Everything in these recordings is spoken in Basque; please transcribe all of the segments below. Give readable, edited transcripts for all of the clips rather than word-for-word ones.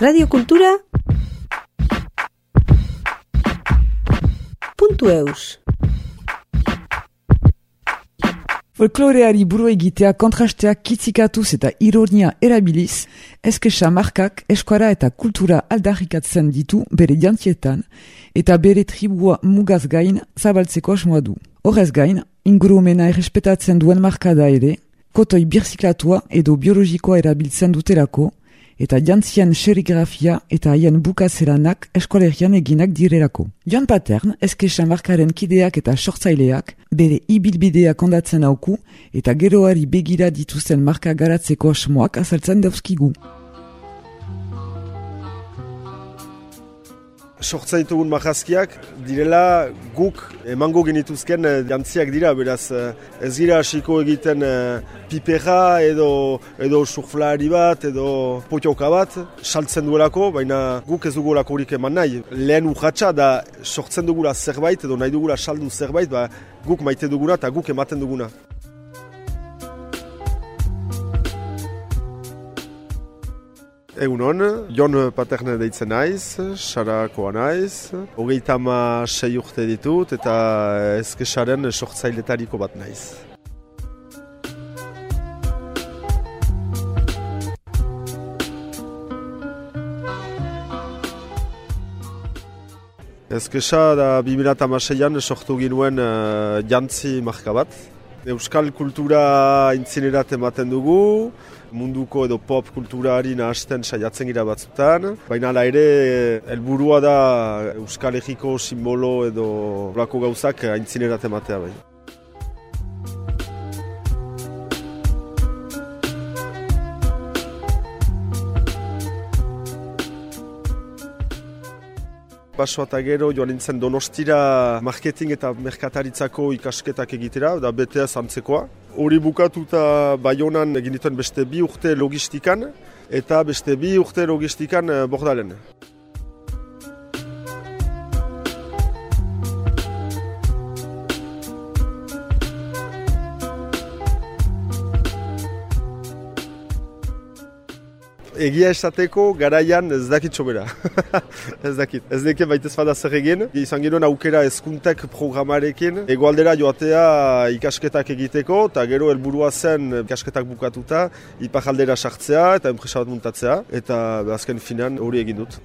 Radio Kultura .eus Folkloreari buru egitea kontrasteak kitzikatuz eta ironia erabiliz, eskexa markak eskuara eta kultura aldarrikatzen ditu bere jantzietan eta bere tribua mugaz gain zabaltzeko asmoa du. Horrez gain, ingurumena errespetatzen duen markada ere, kotoi birziklatua edo biologikoa erabiltzen dutelako, eta jantzien serigrafia eta haien bukatzeranak eskolerian eginak direlako. Joan Patern, eskexa markaren kideak eta sortzaileak, bere ibilbideak ondatzen auku eta geroari begira dituzten marka garatzeko asmoak azaltzen dauzkigu. Sortzen ditugun marrazkiak direla guk emango genituzken jantziak dira, beraz ez gira hasiko egiten pipera edo surflari bat edo potioka bat saltzen duelako, baina guk ez dugulako horik eman nahi. Lehen urratsa da sortzen dugula zerbait edo nahi dugula saldu zerbait, guk maite duguna eta guk ematen duguna. Egunon, Jon Paterne deitzen naiz, Sarakoa naiz, 36 urte ditut eta eskexaren sortzailetariko bat naiz. Eskexa da 2016an sortu ginuen jantzi marka bat. Euskal kultura intzinerat ematen dugu, munduko edo pop kulturari nahasten saiatzen gira batzutan, baina hala ere helburua da Euskal Herriko simbolo edo olako gauzak intzinerat ematea bai. Paso eta gero joan nintzen Donostira marketing eta merkataritzako ikasketak egitera, da BTS antzekoa. Hori bukatuta Baionan egin dituen beste 2 urte logistikan eta beste 2 urte logistikan Bordalen. Egia esateko garaian ez dakit sobera. Ez dakit. Ez deke baitez bada zer egin. Izan genuen aukera hezkuntek programarekin. Hegoaldera joatea ikasketak egiteko, eta gero helburua zen ikasketak bukatuta iparraldera sartzea eta enpresa bat muntatzea. Eta azken finan hori egin dut.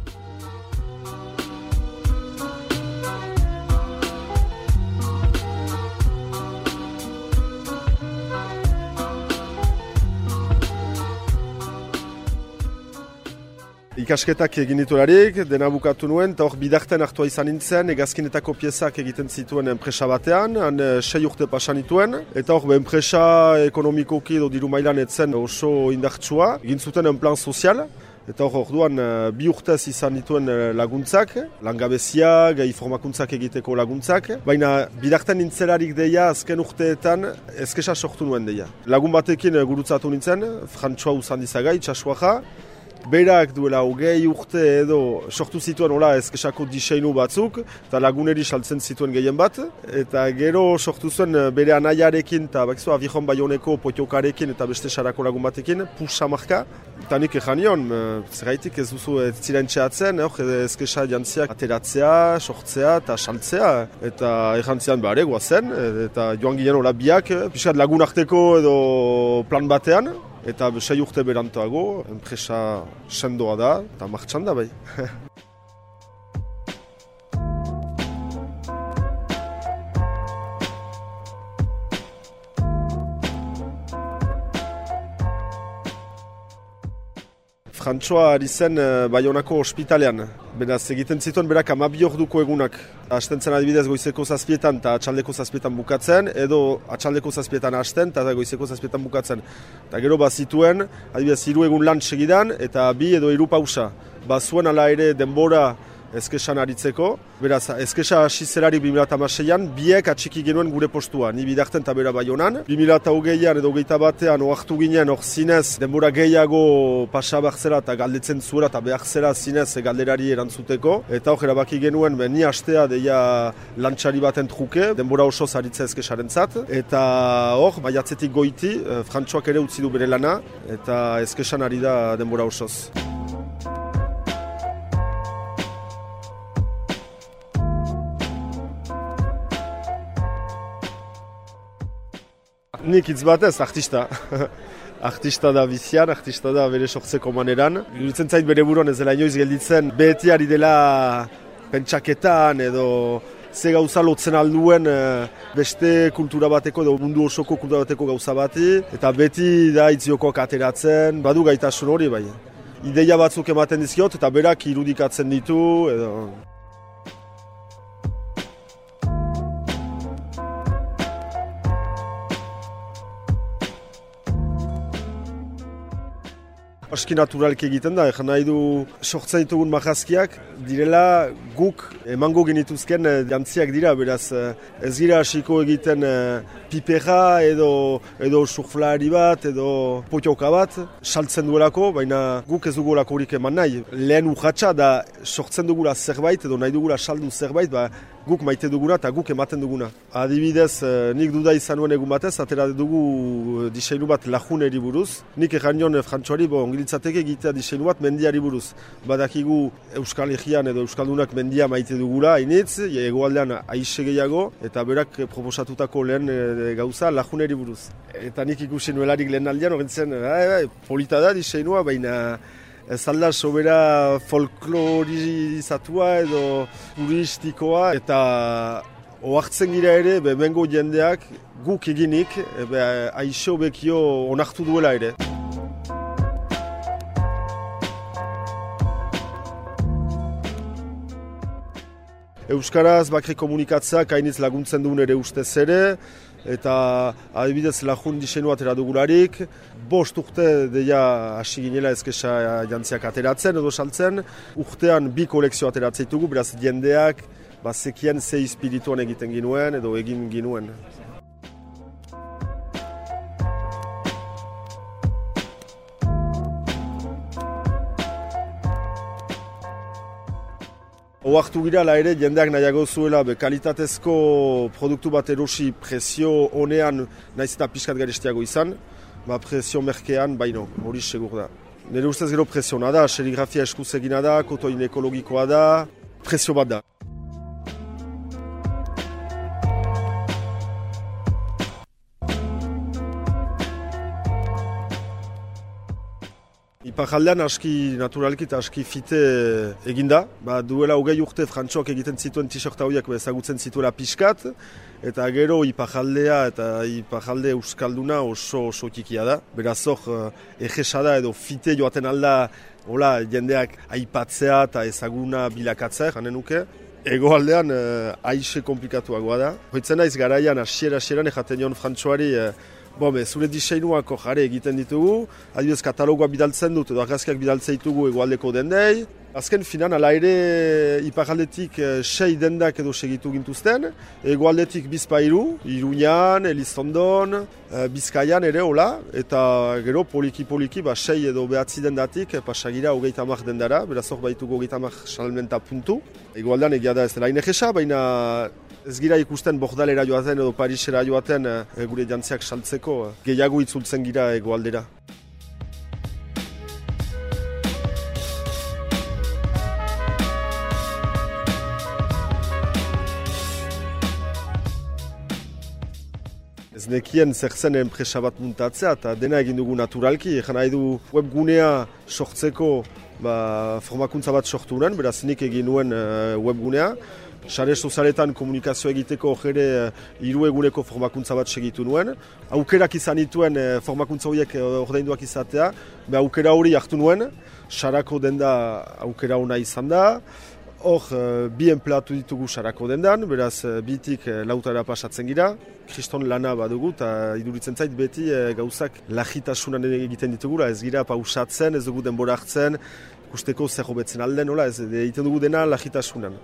Ikasketak egin ditularik, dena bukatu nuen, eta hor bidarten hartua izan nintzen, hegazkinetako piezak egiten zituen enpresa batean, han 6 urte pasan nituen, eta hor enpresa ekonomikoki edo diru mailan etzen oso indartsua, egin zuten en plan sozial, eta hor orduan 2 urtez izan dituen laguntzak, langabezia, gai formakuntzak egiteko laguntzak, baina bidarten nintzelarik deia azken urteetan eskexa sortu nuen deia. Lagun batekin gurutzatu nintzen, Frantsoa Uzandizaga, itxasuaja, berak duela 20 urte edo sortu zituen hola eskexako diseinu batzuk, eta laguneri saltzen zituen gehien bat, eta gero sortu zuen bere anaiarekin, eta bakizu Aviron Baioneko potiokarekin eta beste sarako lagun batekin, Pusa marka, eta nik ejan nion, zergaitik ez duzu ez ziren txeatzen, eskexa jantziak ateratzea, sortzea eta saltzea, eta ejan zian behar guazen, eta joan ginen hola biak, pixkat lagun arteko edo plan batean, eta 6 urte berantoago, enpresa sendoa da, eta martxan da bai. Frantsoa ari zen Baionako ospitalean. Beraz, egiten zituen berak 12 orduko egunak. Hasten zen adibidez goizeko 7etan eta atxaldeko 7etan bukatzen, edo atxaldeko 7etan hasten eta goizeko 7etan bukatzen. Eta gero bazituen, adibidez 3 egun lan segidan eta 2 edo 3 pausa. Bazuen ala ere denbora eskexan aritzeko. Beraz, eskesa hasi zelarik 2016an, biek atxiki genuen gure postua. Ni bidarten eta bera Baionan. 2020an edo 21an oartu ginen hor zinez denbora gehiago pasa behar zela eta galdetzen zuela eta behar zela zinez galderari erantzuteko. Eta hor erabaki genuen, ni hastea deia lantxari baten truke, denbora oso zaritza eskesaren zat. Eta hor, maiatzetik goiti, Frantsoak ere utzi du bere lana eta eskesan ari da denbora osoz. Nik hitz batez, artista. Artista da bizian, artista da bere sortzeko maneran. Iruditzen zait bere buruan ez dela inoiz gelditzen, beti ari dela pentsaketan edo ze gauza lotzen alduen beste kultura bateko edo mundu osoko kultura bateko gauza bati, eta beti da itziokoak ateratzen, badu gaitasun hori bai. Ideia batzuk ematen dizkiot eta berak irudikatzen ditu edo... Aski naturalki egiten da, egin nahi du sortzen ditugun marrazkiak, direla guk emango genituzken jantziak dira, beraz ez gira hasiko egiten pipera edo surflari bat edo potioka bat, saltzen duelako, baina guk ez dugulako horik eman nahi. Lehen urratsa da sortzen dugula zerbait edo nahi dugula saldu zerbait, guk maite duguna eta guk ematen duguna. Adibidez, nik duda izan nuen egun batez, atera dugu diseinu bat lajuneri buruz. Nik egan nion frantxoari, ongilitzateke egitea diseinu bat mendiari buruz. Badakigu Euskal Herrian edo Euskaldunak mendia maite dugula, hainitz, hegoaldean aixe gehiago, eta berak proposatutako lehen gauza lajuneri buruz. Eta nik ikusi nuelarik lehen aldean, horrentzen, polita da diseinua, baina ez alda sobera folklorizatua edo turistikoa, eta ohartzen gira ere, bengo jendeak guk eginik, aixo bekio onartu duela ere. Euskaraz bakri komunikatzeak hainitz laguntzen duen ere ustez ere, eta adibidez lajun diseinu atera dugularik, 5 urte deia hasi ginela ezkesa jantziak ateratzen edo saltzen, urtean 2 kolekzio ateratzen ditugu, beraz jendeak zekien ze espirituan egiten ginuen edo egin ginuen. Oartu gira la ere jendeak nahiago zuela kalitatezko produktu bat erosi prezio honean naiz eta pixkat garestiago izan, prezio merkean baino, hori segur da. Nire ustez gero presiona da, serigrafia eskuz egina da, kotoin ekologikoa da, prezio bat da. Iparaldean aski naturalki eta aski fite eginda. Duela 20 urte frantxoak egiten zituen t-shirta horiek ezagutzen zituela pixkat, eta gero iparaldea eta iparalde euskalduna oso tikia da. Beraz hor egesa da edo fite joaten alda jendeak aipatzea eta ezaguna bilakatzea, janen nuke. Hegoaldean aixe komplikatuagoa da. Hoitzen naiz garaian hasieran ejaten nion frantxoari zure diseinuako jare egiten ditugu, adibidez katalogoa bidaltzen dut edo argazkiak bidaltzen ditugu hegoaldeko dendei. Azken finan, ala ere iparaldetik 6 dendak edo segitu gintuzten, hegoaldetik bizpairu, Iruñan, Elizondon, Bizkaian ere hola, eta gero poliki 6 edo 9 dendatik pasagira 30 dendara, beraz hor baitugu 30 salmenta puntu. Hegoaldean egia da ez dela inegesa, baina ez gira ikusten Bordalera joaten edo Parisera joaten gure jantziak saltzeko, gehiago itzultzen gira hegoaldera. Ez nekien zer zen enpresa bat muntatzea eta dena egin dugu naturalki. Egan nahi du webgunea sortzeko formakuntza bat sortu nuen, beraz nik egin nuen webgunea. Sare sozialetan komunikazio egiteko ere 3 eguneko formakuntza bat segitu nuen. Aukerak izan dituen formakuntza horiek ordainduak izatea, aukera hori hartu nuen. Sarako denda aukera ona izan da. Hor, 2 enpleatu ditugu sarako dendan, beraz bitik lautara pasatzen gira. Kriston lana badugu eta iduritzen zait beti gauzak lagitasunan egiten ditugula. Ez gira pausatzen, ez dugu denbora hartzen, ikusteko zer hobetzen alden, ez egiten dugu dena lagitasunan.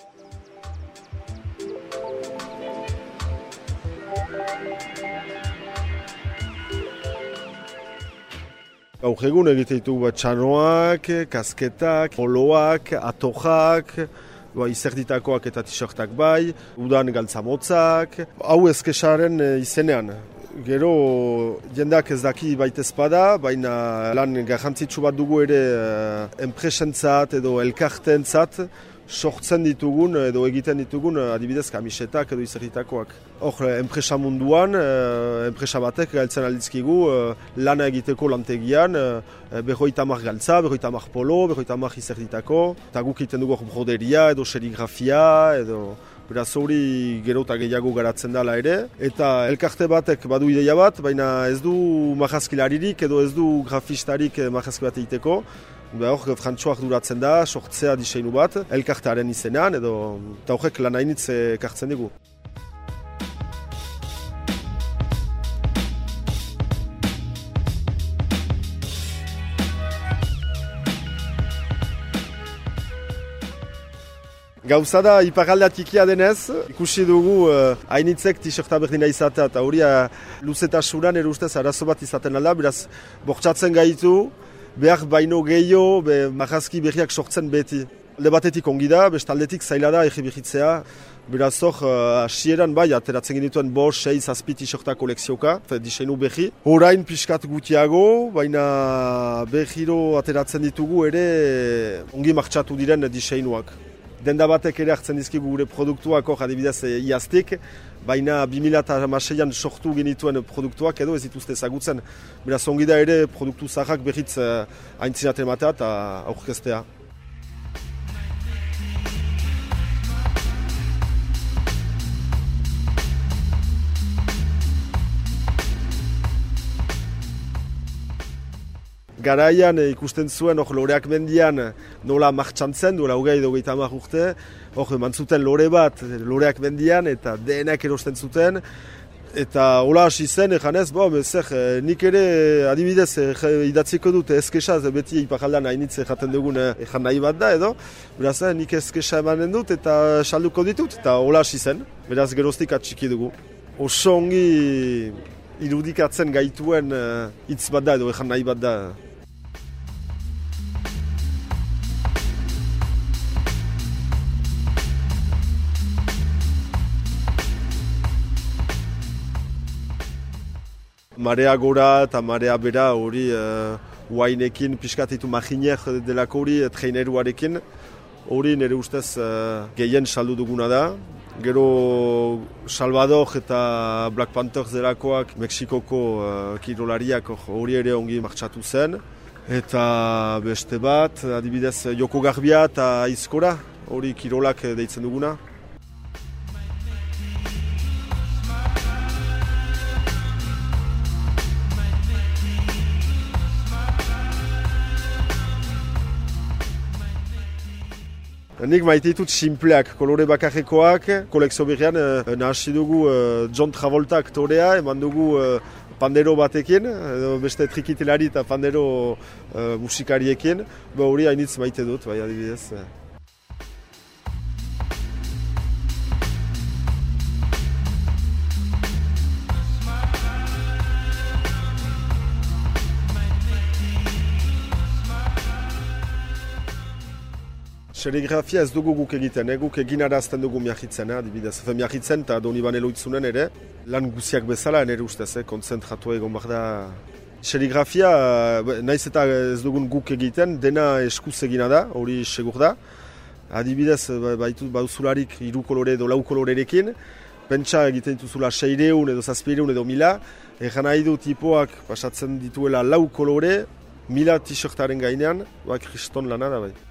Gaur egun egite ditugu txanoak, kasketak, poloak, atojak, izerditakoak eta t-shirtak bai, udan galtzamotzak, hau ezkesaren izenean. Gero jendeak ez daki baitezpada, baina lan garrantzitsu bat dugu ere enpresentzat edo elkartentzat, sortzen ditugun edo egiten ditugun adibidez kamisetak edo izerritakoak. Hor, enpresa munduan, enpresa batek galtzen alditzkigu lana egiteko lantegian, 50 galtza, 50 polo, 50 izerritako, eta guk egiten dugu broderia edo serigrafia edo... Beraz hori gero eta gehiago garatzen dela ere, eta elkarte batek badu ideia bat, baina ez du marrazkilaririk edo ez du grafistarik marrazki bat egiteko. Hor, Frantxoak duratzen da, sortzea diseinu bat, elkartearen izenean, eta horrek lan hainitz ekartzen dugu. Gauza da, iparraldea tikia denez, ikusi dugu hainitzek t-shirta berdina izatea, eta hori luzetasunan ere ustez arazo bat izaten alda, beraz, bortxatzen gaitu, behar baino gehiago, marrazki berriak sortzen beti. Alde batetik ongi da, bestaldetik zaila da egibihitzea, beraz hor, hasieran bai, ateratzen genituen 5, 6, 7 t-shirta kolekzioka, diseinu berri. Horain pixkat gutiago, baina berriro ateratzen ditugu ere ongi martxatu diren diseinuak. Denda batek ere hartzen dizkigu gure produktuak hor adibidez iaztik, baina 2006an sortu genituen produktuak edo ez dituzte ezagutzen. Beraz ongi da ere produktu zaharrak berriz aintzinaten ematea eta aurkeztea. Garaian ikusten zuen loreak mendian nola martxantzen, duela 20-30 urte, hor eman zuten lore bat loreak mendian eta denak erosten zuten. Eta hola hasi zen, eganez, nik ere adibidez idatziko dut eskesa, beti iparaldean hainitze jaten dugun egan nahi bat da edo. Beraz, nik eskesa emanen dut eta salduko ditut, eta hola hasi zen. Beraz, geroztik atxiki dugu. Oso ongi irudikatzen gaituen hitz bat da edo egan nahi bat da. Marea gora eta marea bera hori huainekin pixkatitu maginek delako hori traineruarekin. Hori nire ustez gehien saldu duguna da. Gero Salvador eta Black Panthers delakoak Mexikoko kirolariak hori ere ongi martxatu zen. Eta beste bat, adibidez Joko Garbia eta Aizkora, hori kirolak deitzen duguna. Nik maite ditut simpleak, kolore bakarrekoak, kolekzio berrian nahasi dugu John Travolta aktorea, eman dugu pandero batekin, beste trikitelari eta pandero musikariekin, hori hainitz maite dut, bai adibidez. Serigrafia ez dugu guk egiten, guk egin arazten dugu miahitzen, adibidez. Miahitzen eta Donibane Loitzunen ere, lan guziak bezala, nire ustez, konzentratu egon behar da. Serigrafia, naiz eta ez dugun guk egiten, dena eskuz egina da, hori segur da. Adibidez, bauzularik 3 kolore edo 4 kolorerekin, pentsa egiten dituzula 600 edo 700 edo 1000, egan nahi du tipoak pasatzen dituela 4 kolore, 1000 t-shirtaren gainean, kriston lana da bai.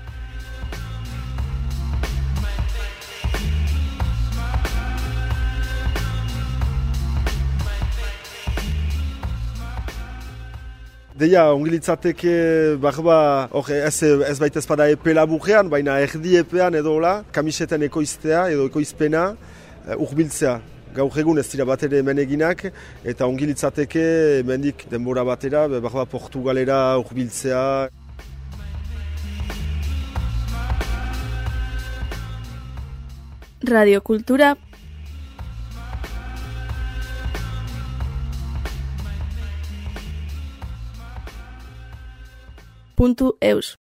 Deia, ongilitzateke barba, ez baita ezpada epe laburrean, baina erdi epean edo hola, kamiseten ekoiztea edo ekoizpena urbiltzea. Gaur egun ez dira bat ere hemen eginak, eta ongilitzateke hemendik denbora batera, barba Portugalera urbiltzea. Radiokultura. .eus